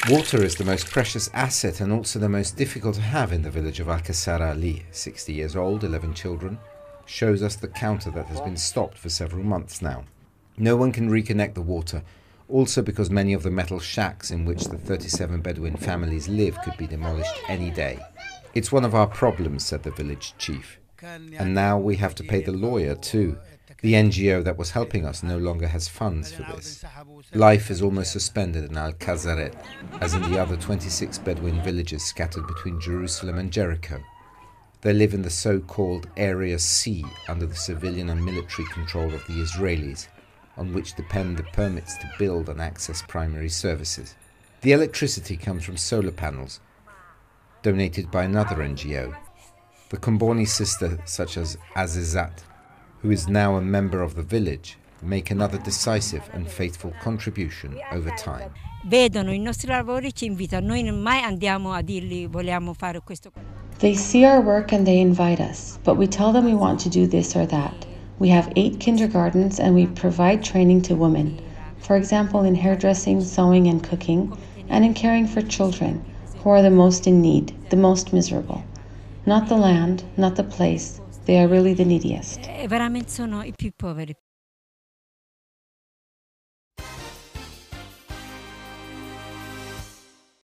Water is the most precious asset and also the most difficult to have in the village of Alcazar Ali. 60 years old, 11 children, shows us the counter that has been stopped for several months now. No one can reconnect the water, also because many of the metal shacks in which the 37 Bedouin families live could be demolished any day. It's one of our problems, said the village chief. And now we have to pay the lawyer too. The NGO that was helping us no longer has funds for this. Life is almost suspended in Al-Kazaret, as in the other 26 Bedouin villages scattered between Jerusalem and Jericho. They live in the so-called Area C, under the civilian and military control of the Israelis, on which depend the permits to build and access primary services. The electricity comes from solar panels, donated by another NGO. The Comboni sisters, such as Azizat, who is now a member of the village, make another decisive and faithful contribution over time. Vedono i nostri lavori, ci invitano, noi mai andiamo a dirgli vogliamo fare questo. They see our work and they invite us, but we tell them we want to do this or that. We have 8 kindergartens and we provide training to women, for example in hairdressing, sewing and cooking, and in caring for children, who are the most in need, the most miserable. Not the land, not the place, they are really the neediest. Veramente sono i più poveri.